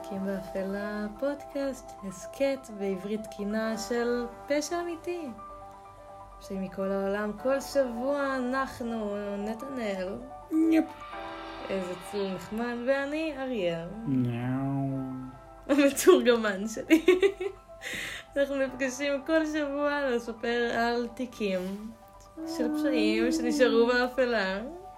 תיקים באפלה, פודקאסט, הסקט בעברית תקינה של פשע אמיתי. שמכל העולם כל שבוע אנחנו נתנאל. יפ. איזה צליל נחמד, ואני אריאל. נאו. המתורגמן שלי. אנחנו נפגשים כל שבוע לספר על תיקים של פשעים שנשארו באפלה.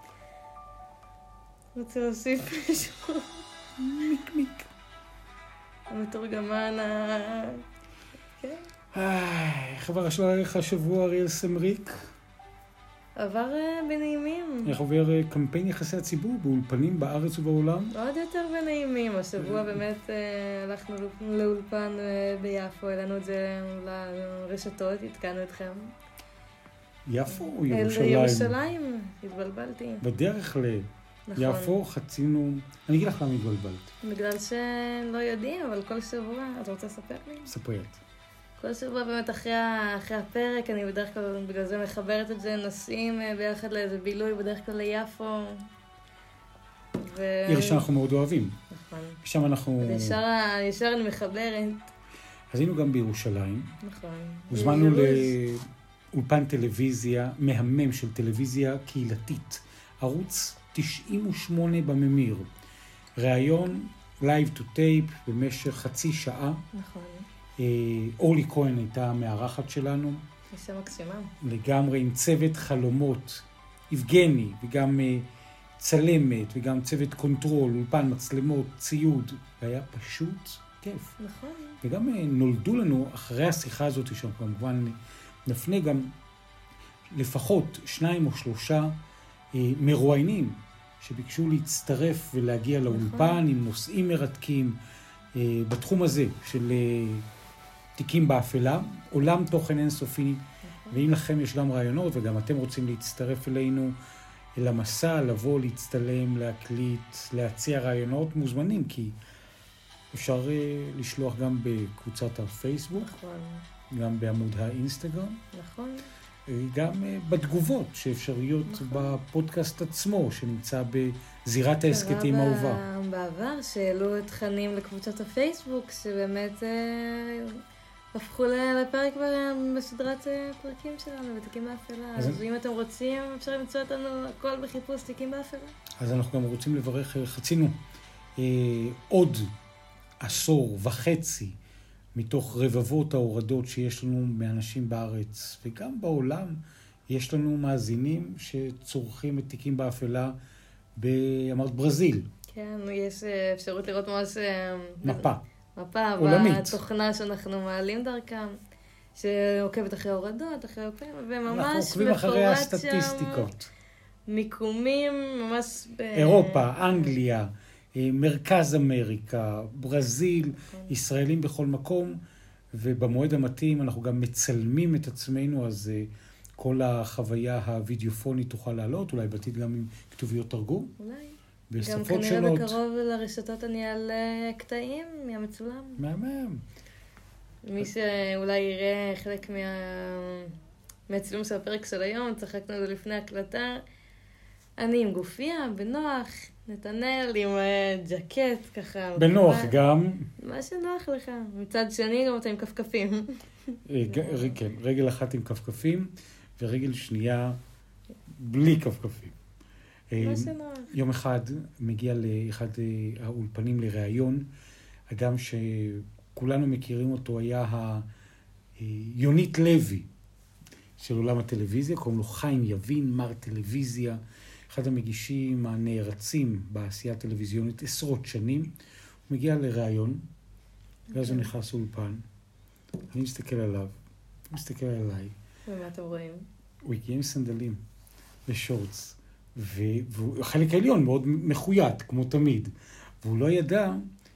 רוצה להוסיף משהו? מיק. המתורגמן כן. איך עבר לך השבוע אריאל סמריק? עבר בנעימים. איך עובר קמפיין יחסי הציבור באולפנים בארץ ובעולם? עוד יותר בנעימים. השבוע באמת הלכנו לאולפן ביפו, העלינו את זה לרשתות, התקנו אתכם. יפו או ירושלים? ירושלים, התבלבלתי. בדרך נכון. ליפו חצינו... אני אגיד לך למה התבלבלת. בגלל שלא יודעים, אבל כל שבוע, אתה רוצה לספר לי? ספרת. כל שבוע באמת אחרי הפרק, אני בדרך כלל בגלל זה מחברת את זה, נוסעים ביחד לאיזה בילוי, בדרך כלל ליפו. עיר שאנחנו מאוד אוהבים. נכון. שם אנחנו... ישר אני מחברת. אז היינו גם בירושלים. נכון. הוזמנו לאולפן טלוויזיה, מהמם של טלוויזיה קהילתית. ערוץ 98 בממיר. ראיון live to tape במשך חצי שעה. נכון. אורלי כהן הייתה המארחת שלנו. אישה מקסימה. לגמרי עם צוות חלומות. יבגני וגם צלמת וגם צוות קונטרול, אולפן, מצלמות, ציוד. והיה פשוט כיף. נכון. וגם נולדו לנו אחרי השיחה הזאת, שכמובן נפנה גם לפחות 2 או 3 מרואיינים שביקשו להצטרף ולהגיע לאולפן עם נושאים מרתקים בתחום הזה של תיקים באפלה, עולם תוכן אינסופי. ואם לכם יש גם רעיונות וגם אתם רוצים להצטרף אלינו אל המסע, לבוא, להצטלם, להקליט, להציע רעיונות, מוזמנים, כי אפשר לשלוח גם בקבוצת הפייסבוק, נכון. גם בעמוד האינסטגרם. נכון. גם בתגובות שאפשריות בפודקאסט עצמו, שנמצא בזירת ההסקטים האהובה. בעבר שהעלו תכנים לקבוצת הפייסבוק, שבאמת הפכו לפרק בסדרת פרקים שלנו, בתיקים באפלה. אז אם אתם רוצים, אפשר למצוא אותנו הכל בחיפוש תיקים באפלה. אז אנחנו גם רוצים לברך, חצינו עוד 1.5 עשור מתוך רבבות ההורדות שיש לנו מאנשים בארץ וגם בעולם. יש לנו מאזינים שצורכים את תיקים באפלה אמרת ברזיל. כן, יש אפשרות לראות ממש מפה עולמית. בתוכנה שאנחנו מעלים דרכם, שעוקבת אחרי ההורדות, אחרי הפעמים, וממש אנחנו עוקבים אחרי הסטטיסטיקות. מיקומים ממש אירופה, אנגליה, מרכז אמריקה, ברזיל, ישראלים בכל מקום, ובמועד המתאים אנחנו גם מצלמים את עצמנו, אז כל החוויה הווידאופונית תוכל לעלות, אולי בעתיד גם עם כתוביות תרגום. אולי. בשפות גם כנראה שונות. בקרוב לרשתות אני אעלה קטעים מהמצולם. מהמם. מי שאולי יראה חלק מהצילום של הפרק של היום, צחקנו את זה לפני הקלטה. אני עם גופיה, בנוח, נתנאל עם ג'קט ככה. בנוח גם. מה שנוח לך. מצד שני גם אתה עם כפכפים. כן, רגל אחת עם כפכפים, ורגל שנייה בלי כפכפים. מה שנוח. יום אחד מגיע לאחד האולפנים לראיון, אדם שכולנו מכירים אותו היה יונית לוי של עולם הטלוויזיה, קוראים לו חיים יבין, מר טלוויזיה, אחד המגישים הנערצים בעשייה הטלוויזיונית 10 שנים. הוא מגיע לראיון, ואז הוא נכנס לאולפן, אני מסתכל עליו, הוא מסתכל עליי. ומה אתם רואים? הוא הגיע עם סנדלים ושורטס, והחלק העליון מאוד מחויית, כמו תמיד. והוא לא ידע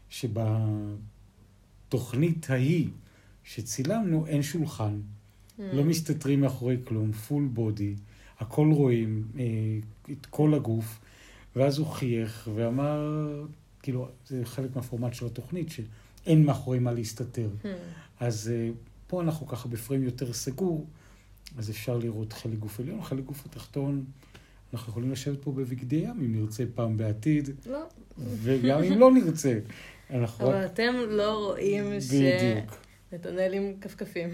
שבתוכנית ההיא שצילמנו אין שולחן, לא מסתתרים מאחורי כלום, פול בודי, הכל רואים, את כל הגוף, ואז הוא חייך ואמר, כאילו, זה חלק מהפורמט של התוכנית, שאין מאחורי מה להסתתר. אז פה אנחנו ככה בפריים יותר סגור, אז אפשר לראות חלק גוף עליון, חלק גוף התחתון. אנחנו יכולים לשבת פה בבגדי ים, אם נרצה פעם בעתיד. לא. וגם אם לא נרצה. אבל אתם לא רואים שנתנאל עם כפכפים.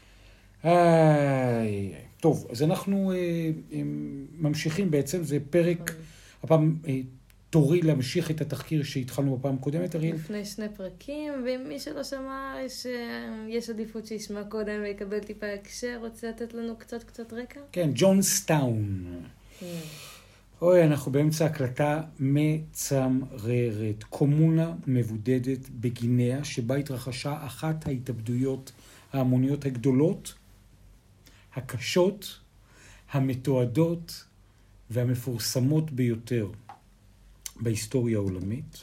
טוב, אז אנחנו ממשיכים בעצם, זה פרק, הפעם תורי להמשיך את התחקיר שהתחלנו בפעם הקודמת, אריאל. לפני 2 פרקים, ומי שלא שמע שיש עדיפות שישמע קודם ויקבל טיפה הקשר, רוצה לתת לנו קצת רקע? כן, ג'ונסטאון. אוי, אנחנו באמצע הקלטה מצמררת. קומונה מבודדת בגינאה, שבה התרחשה אחת ההתאבדויות ההמוניות הגדולות, הקשות, המתועדות והמפורסמות ביותר בהיסטוריה העולמית.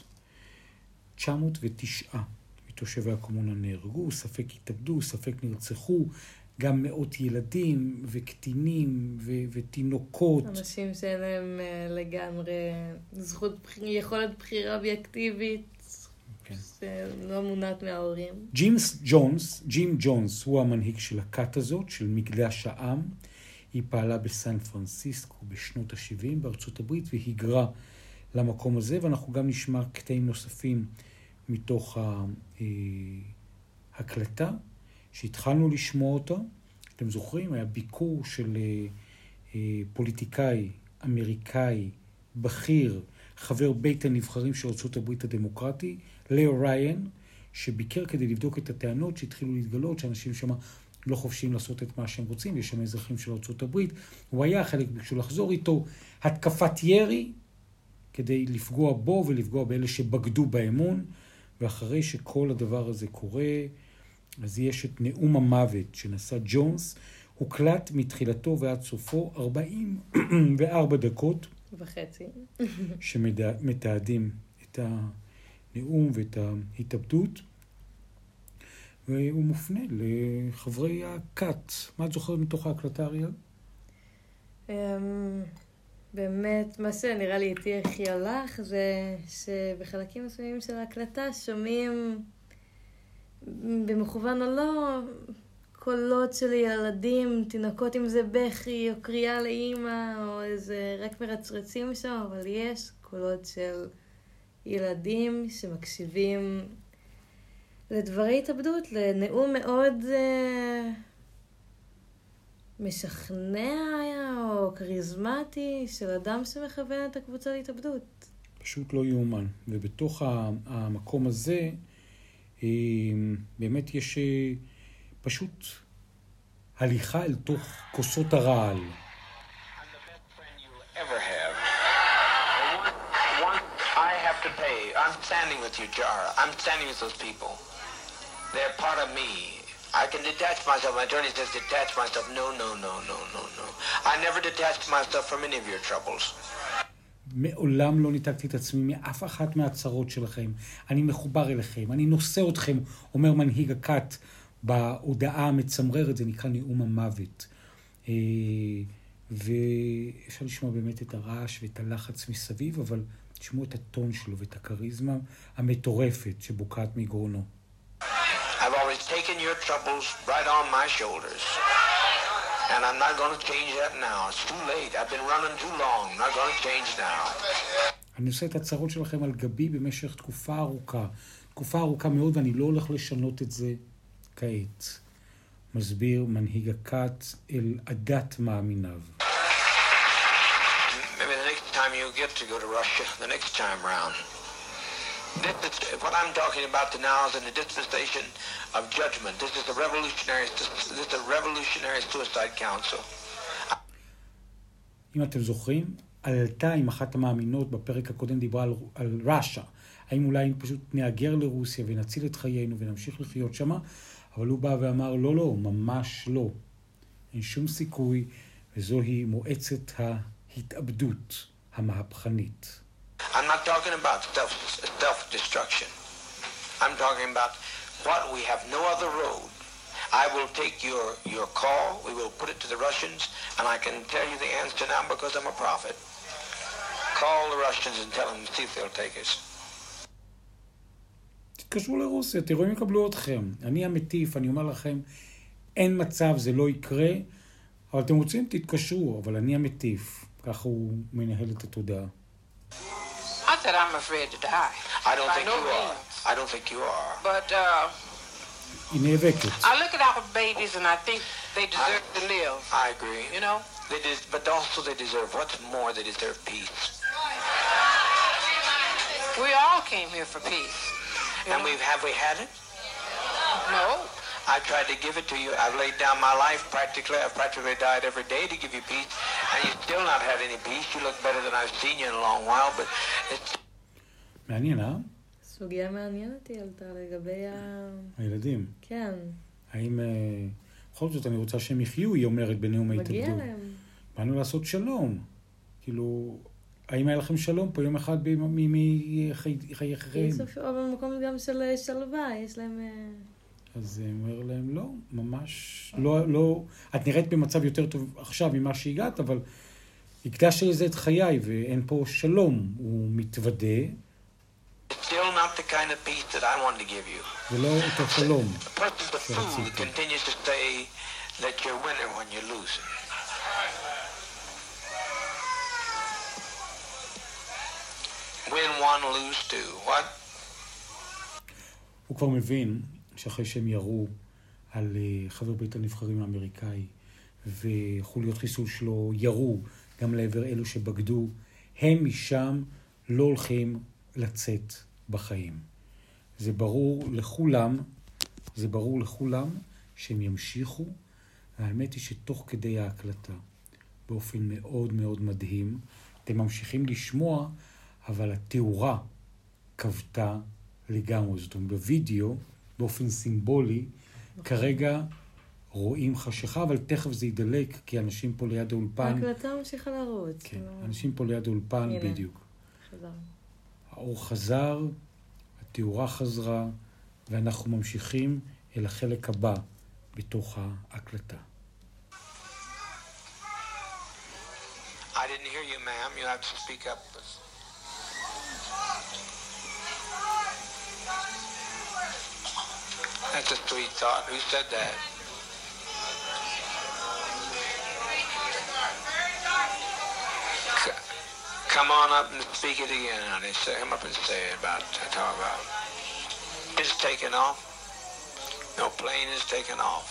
909 מתושבי הקומונה נהרגו, ספק התאבדו, ספק נרצחו, גם מאות ילדים וקטינים ותינוקות. אנשים שאין להם לגמרי יכולת בחירה אובייקטיבית, כן. שלא מונעת מההורים. ג'ים ג'ונס הוא המנהיג של הכת הזאת, של מקדש העם. היא פעלה בסן פרנסיסקו בשנות ה-70 בארצות הברית והיגרה למקום הזה, ואנחנו גם נשמע קטעים נוספים מתוך ההקלטה שהתחלנו לשמוע אותה. אתם זוכרים? היה ביקור של פוליטיקאי אמריקאי בכיר, חבר בית הנבחרים של ארצות הברית הדמוקרטי, לאו ריין, שביקר כדי לבדוק את הטענות שהתחילו להתגלות, שאנשים שם לא חופשיים לעשות את מה שהם רוצים, יש שם אזרחים של ארצות הברית. הוא היה, חלק ביקשו לחזור איתו, התקפת ירי, כדי לפגוע בו ולפגוע באלה שבגדו באמון, ואחרי שכל הדבר הזה קורה, אז יש את נאום המוות שנשא ג'ונס, הוקלט מתחילתו ועד סופו 44 דקות וחצי, שמתעדים את הנאום ואת ההתאבדות, והוא מופנה לחברי הכת. מה את זוכרת מתוך ההקלטה, אריאל? באמת, מה שנראה לי איתי הכי הלך, זה שבחלקים מסוימים של ההקלטה שומעים, במכוון או לא, קולות של ילדים, תינוקות, אם זה בכי או קריאה לאמא, או איזה רק מרצרצים שם, אבל יש קולות של ילדים שמקשיבים לדברי התאבדות, לנאום מאוד משכנע או כריזמטי של אדם שמכוון את הקבוצה להתאבדות. פשוט לא יאומן. ובתוך המקום הזה, באמת יש פשוט הליכה אל תוך כוסות הרעל. I'm standing with you, Jara. I'm standing with those people. They're part of me. I can detach myself. My attorney says detach myself. No. I never detached myself from any of your troubles. מעולם לא ניתקתי את עצמי מאף אחת מהצרות שלכם. אני מחובר אליכם. אני נושא אתכם, אומר מנהיג הכת בהודעה המצמררת. זה נקרא נאום המוות. ואפשר לשמוע באמת את הרעש ואת הלחץ מסביב, אבל תשמעו את הטון שלו ואת הכריזמה המטורפת שבוקעת מגרונו. I've always taken your troubles right on my shoulders. And I'm not going to change that now. It's too late. I've been running too long. I'm not going to change now. אני עושה את הצרות שלכם על גבי במשך תקופה ארוכה מאוד, ואני לא הולך לשנות את זה כעת. מסביר מנהיג הכת אל עדת מאמיניו. You get to go to Russia the next time round. What I'm talking about now is in the dispensation of judgment. This is a revolutionary suicide council. אם אתם זוכרים, עלתה עם אחת המאמינות בפרק הקודם דיברה על רוסיה. האם אולי פשוט נאגר לרוסיה ונציל את חיינו ונמשיך לחיות שמה? אבל הוא בא ואמר, לא, ממש לא. אין שום סיכוי, וזוהי מועצת ההתאבדות. המהפכנית. I'm not talking about self-destruction. I'm talking about what we have no other road. I will take your call, we will put it to the Russians, and I can tell you the answer now because I'm a prophet. Call the Russians and tell them to see if they'll take us. תתקשרו לרוסיה, תראו אם יקבלו אתכם. אני המטיף, אני אומר לכם, אין מצב, זה לא יקרה, אבל אתם רוצים, תתקשרו, אבל אני המטיף. ככה הוא מנהל את התודעה. I that I'm afraid to die. I don't think you are. I don't think you are. But היא נאבקת. I look at our babies and I think they deserve to live. I agree. You know? But also they deserve, what's more, they deserve peace. We all came here for peace. And have we had it? No. I tried to give it to you. I've laid down my life practically. I've practically died every day to give you peace. And you've still not had any peace. You look better than I've seen you in a long while, but it's... מעניין, סוגיה מעניינת היא עלתה לגבי הילדים. כן. האם... בכל זאת אני רוצה שהם יחיו, היא אומרת בנאום ההתאבדות. מגיע להם. באנו לעשות שלום. כאילו, האם היה לכם שלום פה יום אחד מחייכם? או במקום גם של שלווה, יש להם... אז הוא אומר להם, לא, ממש, לא, את נראית במצב יותר טוב עכשיו ממה שהגעת, אבל הקדשת לזה את חיי, ואין פה שלום. הוא מתוודה. Still not the kind of peace that I wanted to give you. ולא אותו שלום. The fool continues to say that you're winner when you lose. Win one, lose two. What? הוא כבר מבין שאחרי שהם ירו על חבר בית הנבחרים האמריקאי וחוליות חיסול שלו ירו גם לעבר אלו שבגדו, הם משם לא הולכים לצאת בחיים. זה ברור לכולם שהם ימשיכו. האמת היא שתוך כדי ההקלטה, באופן מאוד מאוד מדהים, אתם ממשיכים לשמוע, אבל התאורה קבטה לגמרי. זאת אומרת, בווידאו, באופן סימבולי, כרגע רואים חשיכה, אבל תכף זה ידלק, כי אנשים פה ליד האולפן... ההקלטה ממשיכה לרוץ. כן, אנשים פה ליד האולפן, בדיוק. חזר. האור חזר, התאורה חזרה, ואנחנו ממשיכים אל החלק הבא בתוך ההקלטה. I didn't hear you, ma'am. You have to speak up. That's a sweet thought. Who said that? Come on up and speak it again, honey. Come up and say it about talk about. It's taken off. No plane is taken off.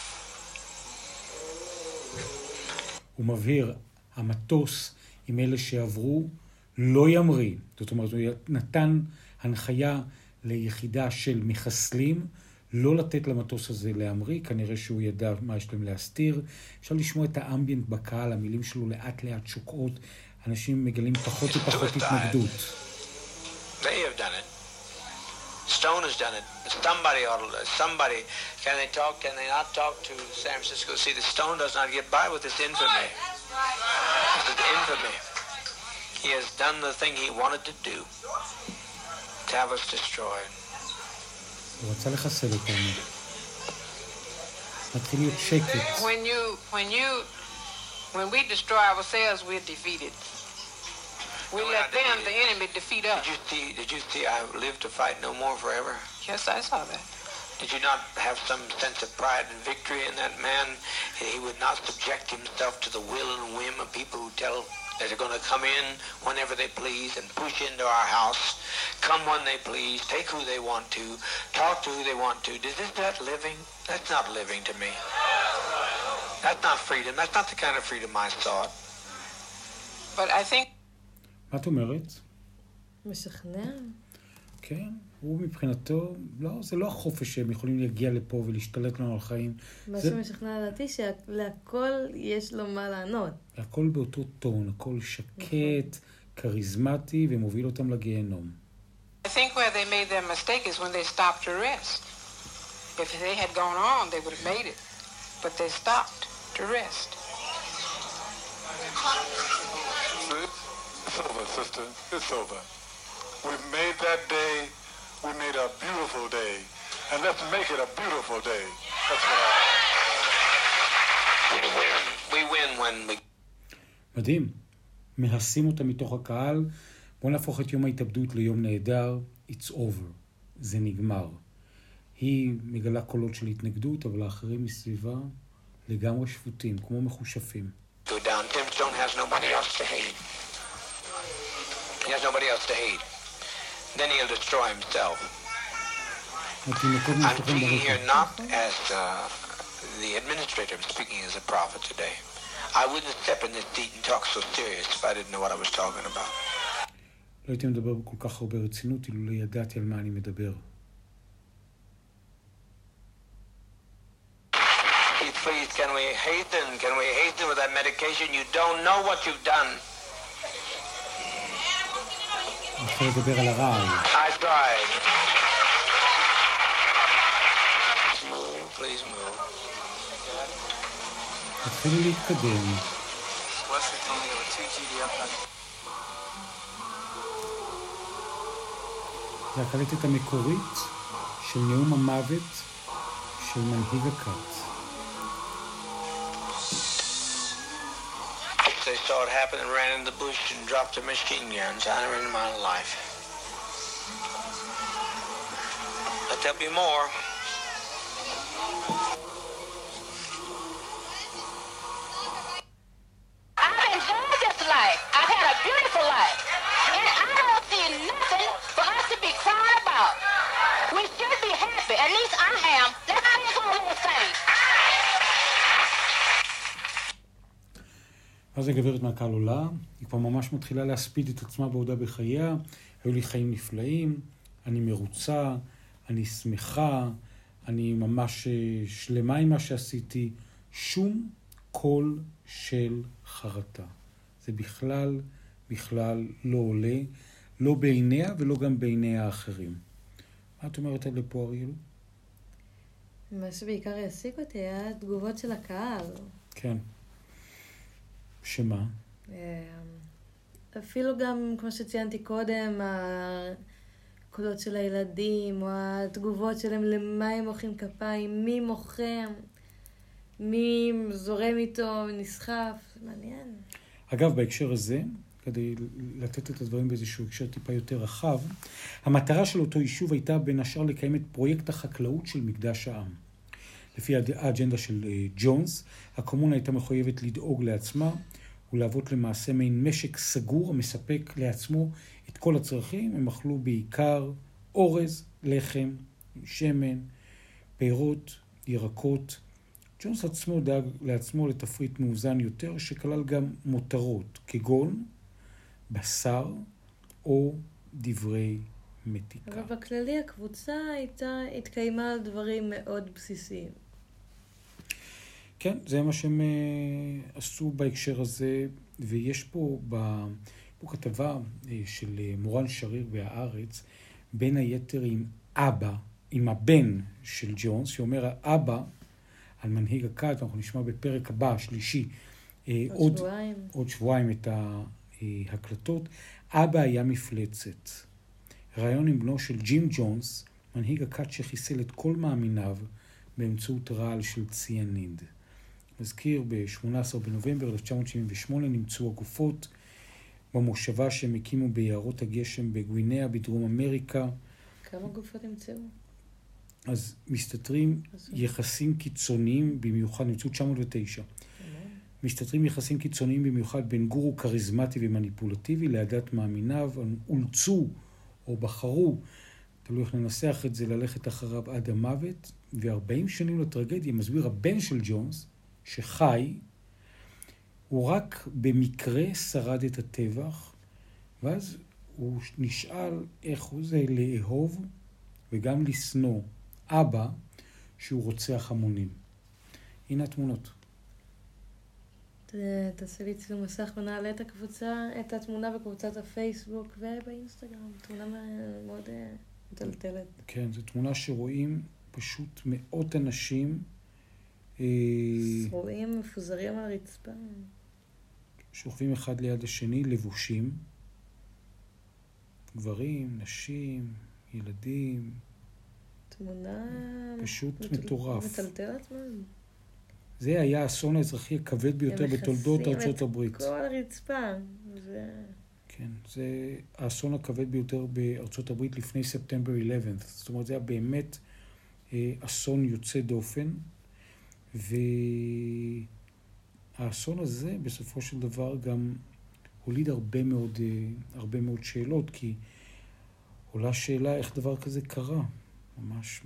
הוא מבהיר, המטוס עם אלה שעברו לא ימריא. זאת אומרת, הוא נתן הנחיה ליחידה של מחסלים לא לתת למטוס הזה להמריא, כנראה שהוא ידע מה יש להם להסתיר. אפשר לשמוע את האמביינט בקהל, המילים שלו לאט לאט שוקעות, אנשים מגלים פחות ופחות התנגדות. They have done it. Stone has done it. Somebody ought to, somebody, can they not talk to San Francisco? See, the Stone does not get by with this infamy. This is infamy. He has done the thing he wanted to do. To have us destroyed. הוא רצה לחסל אותנו. מתחיל להיות שקט. When we destroy ourselves, we're defeated. We let them, the enemy, defeat us. Did you see I live to fight no more forever? Yes, I saw that. Did you not have some sense of pride and victory in that man? He would not subject himself to the will and whim of people who tell that they're going to come in whenever they please and push into our house, come when they please, take who they want to, talk to who they want to. Is that living? That's not living to me. That's not freedom. That's not the kind of freedom I sought. But I think... מה את אומרת? משכנע. כן, הוא מבחינתו, לא, זה לא החופש שהם יכולים להגיע לפה ולהשתלט לנו על חיים. מה שמשכנע לדעתי שלהכל יש לו מה לענות. הכל באותו טון, הכל שקט, כריזמטי, ומוביל אותם לגיהנום. I think where they made their mistake is when they stopped to rest. If they had gone on, they would have made it. But they stopped to rest. It's over, sister. It's over. We've made that day. We made a beautiful day. And let's make it a beautiful day. That's what we win when we... מדהים. מהסים אותה מתוך הקהל. בואו נהפוך את יום ההתאבדות ליום נהדר. It's over. זה נגמר. היא מגלה קולות של התנגדות, אבל האחרים מסביבה לגמרי שפוטים, כמו מחושפים. Go down. Tim Stone has nobody else to hate. He has nobody else to hate. then he'll destroy himself. התינוקות I'm נשלחים speaking here ברקע. not as the administrator, I'm speaking as a prophet today. I wouldn't step in this seat and talk so serious if I didn't know what I was talking about. לא הייתי מדבר כל כך הרבה רצינות, אילו לא ידעתי על מה אני מדבר. Please, can we hasten with that medication? You don't know what you've done. אני יכול לדבר על הרעל. I tried. Move, please move. תתחילו להתקדם. Wesley told me there were 2 GDF. זה הקלטת המקורית של נאום המוות של מנהיג הכת. They saw it happen and ran in the bush and dropped their machine guns. I never in my life. I'll tell you more. I've enjoyed this life. I've had a beautiful life. And I don't see nothing for us to be crying about. We should be happy. At least I am. Let's sing some little things. אז הגברת מהקהל עולה, היא כבר ממש מתחילה להספיד את עצמה בעודה בחייה, היו לי חיים נפלאים, אני מרוצה, אני שמחה, אני ממש שלמה עם מה שעשיתי, שום קול של חרטה. זה בכלל לא עולה, לא בעיניה ולא גם בעיני האחרים. מה את אומרת על לפה, אריאל? מה שבעיקר העסיק אותי היה התגובות של הקהל. כן. שמה? אפילו גם, כמו שציינתי קודם, הקולות של הילדים, או התגובות שלהם, למה הם מוחאים כפיים, מי מוחם, מי זורם איתו, נסחף, מעניין. אגב, בהקשר הזה, כדי לתת את הדברים באיזשהו הקשר טיפה יותר רחב, המטרה של אותו יישוב הייתה בין השאר לקיים את פרויקט החקלאות של מקדש העם. לפי האג'נדה של ג'ונס, הקומונה הייתה מחויבת לדאוג לעצמה ולהוות למעשה מעין משק סגור המספק לעצמו את כל הצרכים. הם אכלו בעיקר אורז, לחם, שמן, פירות, ירקות. ג'ונס עצמו דאג לעצמו לתפריט מאוזן יותר שכלל גם מותרות כגון בשר או דברי מתיקה. אבל בכללי הקבוצה התקיימה על דברים מאוד בסיסיים. כן, זה מה שהם עשו בהקשר הזה, ויש פה כתבה של מורן שריר בהארץ, בין היתר עם הבן של ג'ונס, שאומר האבא על מנהיג הכת, אנחנו נשמע בפרק הבא, השלישי, עוד שבועיים את ההקלטות, אבא היה מפלצת. רעיון עם בנו של ג'ים ג'ונס, מנהיג הכת שחיסל את כל מאמיניו באמצעות רעל של ציאניד. מזכיר, ב-18 בנובמבר 1978 נמצאו הגופות במושבה שהם הקימו ביערות הגשם בגווינאה בדרום אמריקה. כמה גופות נמצאו? אז מסתתרים יחסים קיצוניים במיוחד, נמצאו 909. מסתתרים יחסים קיצוניים במיוחד בין גורו קריזמטי ומניפולטיבי לעדת מאמיניו, אולצו או בחרו, תלוי איך ננסח את זה, ללכת אחריו עד המוות, ו40 שנים לטרגדיה, מסביר הבן של ג'ונס, שחי, הוא רק במקרה שרד את הטבח, ואז הוא נשאל איך הוא זה לאהוב וגם לשנוא אבא שהוא רוצח המונים. הנה התמונות. תעשה לי צילום מסך ונעלה את התמונה בקבוצת הפייסבוק ובאינסטגרם. תמונה מאוד מטלטלת. כן, זו תמונה שרואים פשוט מאות אנשים רואים מפוזרים על הרצפה. שוכבים אחד ליד השני, לבושים. גברים, נשים, ילדים. תמונה פשוט מטורף. מטלטלת מאוד. זה היה האסון האזרחי הכבד ביותר בתולדות ארצות הברית. הם מכסים את כל הרצפה. כן, זה האסון הכבד ביותר בארצות הברית לפני ספטמבר 11. זאת אומרת, זה היה באמת אסון יוצא דופן. והאסון הזה בסופו של דבר גם הוליד הרבה מאוד שאלות, כי עולה שאלה איך דבר כזה קרה. ממש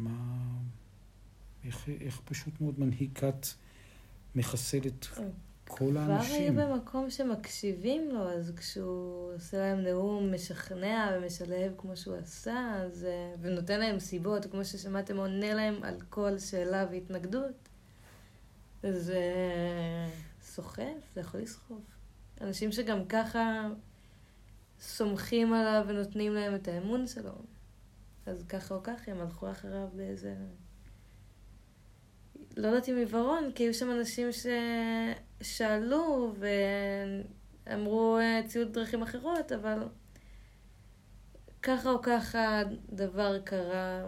איך פשוט מאוד מנהיקת מחסל את כל האנשים. כבר היה במקום שמקשיבים לו, אז כשהוא עושה להם נאום משכנע ומשלב כמו שהוא עשה, אז, ונותן להם סיבות, כמו ששמעתם, עונה להם על כל שאלה והתנגדות, זה סוחף, זה יכול לסחוף. אנשים שגם ככה סומכים עליו ונותנים להם את האמון שלו, אז ככה או ככה הם הלכו אחריו באיזה... לא יודעת אם עיוורון, כי היו שם אנשים ששאלו ואמרו ציוד דרכים אחרות, אבל ככה או ככה דבר קרה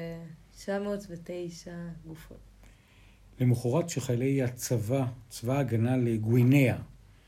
ו-909 גופות. למחרת שחיילי הצבא, צבא הגנה לגווינאה,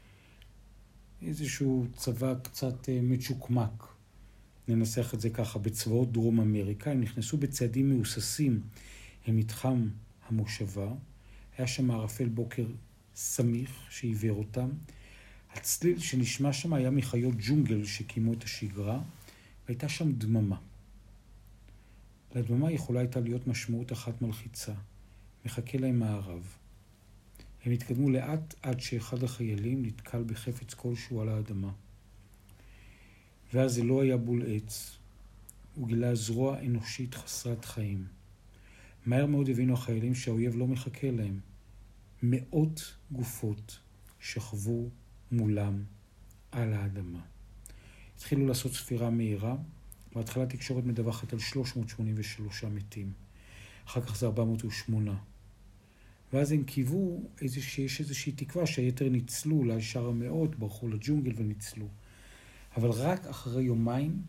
איזשהו צבא קצת מצ'וקמק, ננסח את זה ככה, בצבאות דרום אמריקה, הם נכנסו בצעדים מאוססים אל מתחם המושבה, היה שם ערפל בוקר סמיך שעיוור אותם, הצליל שנשמע שם היה מחיות ג'ונגל שקיימו את השגרה, והייתה שם דממה. לדממה יכולה הייתה להיות משמעות אחת מלחיצה, מחכה להם מערב. הם התקדמו לאט עד שאחד החיילים נתקל בחפץ כלשהו על האדמה. ואז זה לא היה בול עץ, הוא גילה זרוע אנושית חסרת חיים. מהר מאוד הבינו החיילים שהאויב לא מחכה להם. מאות גופות שכבו מולם על האדמה. התחילו לעשות ספירה מהירה, בהתחלה תקשורת מדווחת על 383 מתים. אחר כך זה 408. ואז הם קיוו שיש איזושהי תקווה שהיתר ניצלו, אולי שאר המאות, ברחו לג'ונגל וניצלו. אבל רק אחרי יומיים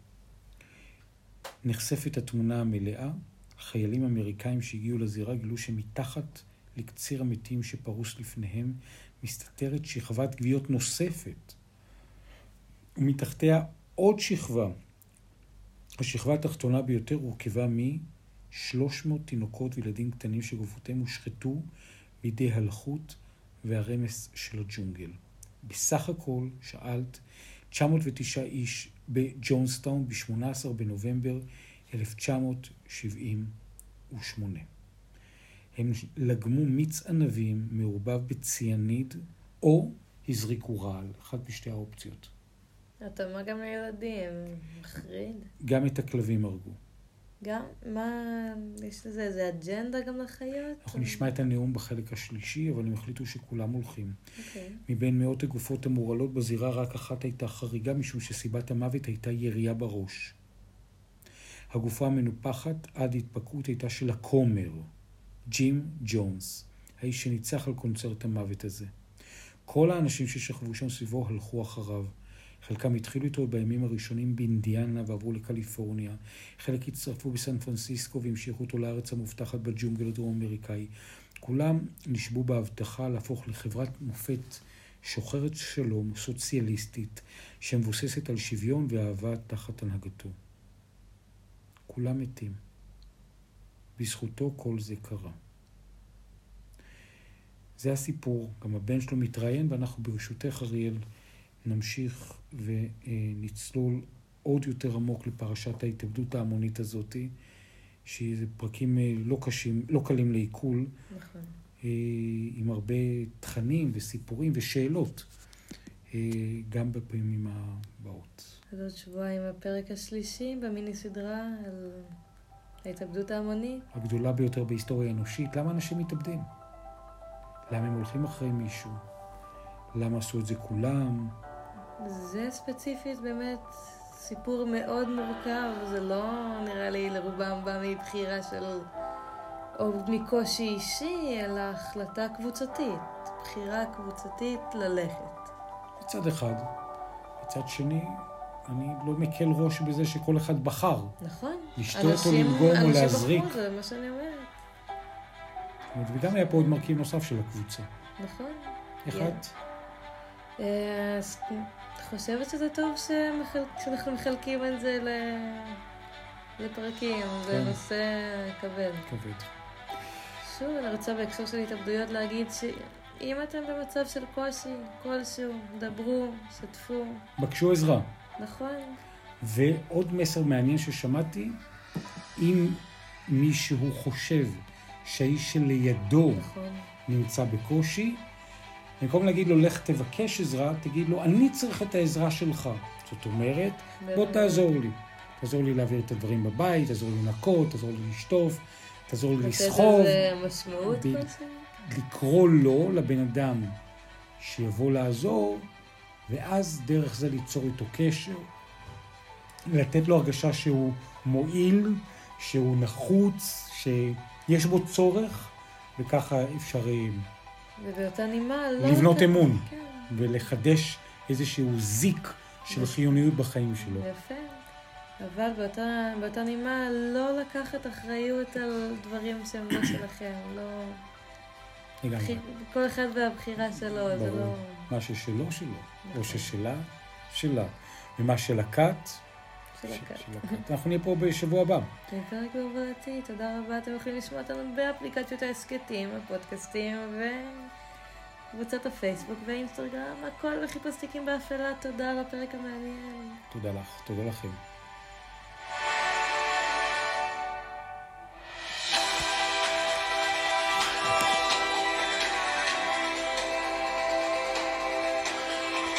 נחשפת התמונה המלאה. חיילים אמריקאים שהגיעו לזירה גילו שמתחת לקציר המתים שפרוס לפניהם מסתתרת שכבת גוויות נוספת. ומתחתיה עוד שכבה. השכבה התחתונה ביותר הורכבה מ-300 תינוקות וילדים קטנים שגופותיהם הושחתו בידי הלחות והרמס של הג'ונגל. בסך הכל, שאלת, 909 איש בג'ונסטאון ב-18 בנובמבר 1978. הם לגמו מיץ ענבים מעורבב בציאניד או הזריקו רעל, אחת משתי האופציות. אתה מה גם לילדים? מחריד. גם את הכלבים הרגו. גם? מה? יש לזה איזה אג'נדה גם לחיות? אנחנו נשמע את הנאום בחלק השלישי, אבל הם החליטו שכולם הולכים. אוקיי. מבין מאות הגופות המורעלות בזירה, רק אחת הייתה חריגה, משום שסיבת המוות הייתה ירייה בראש. הגופה המנופחת עד התפקעות הייתה של הכומר, ג'ים ג'ונס, האיש שניצח על קונצרט המוות הזה. כל האנשים ששכבו שם סביבו הלכו אחריו. חלקם התחילו איתו בימים הראשונים באינדיאנה ועברו לקליפורניה. חלק הצטרפו בסן פרנסיסקו והמשיכו אותו לארץ המובטחת בג'ונגל הדרום אמריקאי. כולם נשבו בהבטחה להפוך לחברת מופת שוחרת שלום סוציאליסטית שמבוססת על שוויון ואהבה תחת הנהגתו. כולם מתים. בזכותו כל זה קרה. זה הסיפור. גם הבן שלו מתראיין, ואנחנו ברשותך אריאל נמשיך ונצלול עוד יותר עמוק לפרשת ההתאבדות ההמונית הזאת, שזה פרקים לא קלים לעיכול, נכון. עם הרבה תכנים וסיפורים ושאלות, גם בפעמים הבאות. אז עוד שבועיים הפרק השלישי במיני סדרה על ההתאבדות ההמונית. הגדולה ביותר בהיסטוריה האנושית. למה אנשים מתאבדים? למה הם הולכים אחרי מישהו? למה עשו את זה כולם? זה ספציפית באמת סיפור מאוד מורכב, זה לא נראה לי לרובם בא מבחירה של או מקושי אישי, אלא החלטה קבוצתית, בחירה קבוצתית ללכת. מצד אחד. מצד שני, אני לא מקל ראש בזה שכל אחד בחר. נכון. לשתות או לנגום או להזריק. אנשים בחרו, זה מה שאני אומרת. וגם היה פה עוד מרכיב נוסף של הקבוצה. נכון. איך את? אז חושבת שזה טוב שאנחנו מחלקים את זה לפרקים, זה נושא כבד. כבד. שוב, אני רוצה בהקשר של התאבדויות להגיד שאם אתם במצב של קושי כלשהו, דברו, שתפו. בקשו עזרה. נכון. ועוד מסר מעניין ששמעתי, אם מישהו חושב שהאיש שלידו נמצא בקושי, במקום להגיד לו, לך תבקש עזרה, תגיד לו, אני צריך את העזרה שלך. זאת אומרת, בוא תעזור לי. תעזור לי להעביר את הדברים בבית, תעזור לי לנקות, תעזור לי לשטוף, תעזור לי לסחוב. לתת איזה משמעות כלשהי? לקרוא לו, לבן אדם, שיבוא לעזור, ואז דרך זה ליצור איתו קשר, לתת לו הרגשה שהוא מועיל, שהוא נחוץ, שיש בו צורך, וככה אפשר ובאותה נימה לא... לבנות אמון, כן. ולחדש איזשהו זיק של חיוניות בחיים שלו. יפה. אבל באותה נימה לא לקחת אחריות על דברים שהם לא שלכם, לא... לגמרי. כל אחד והבחירה שלו, זה לא... מה ששלו, שלו. או ששלה, שלה. ומה של הכת, של הכת. אנחנו נהיה פה בשבוע הבא. זה פרק בהובלתי, תודה רבה. אתם יכולים לשמוע אותנו באפליקציות ההסקטים, הפודקאסטים וקבוצת הפייסבוק והאינסטגרם, הכל בחיפוש תיקים באפלה. תודה על הפרק המעניין. תודה לך, תודה לכם.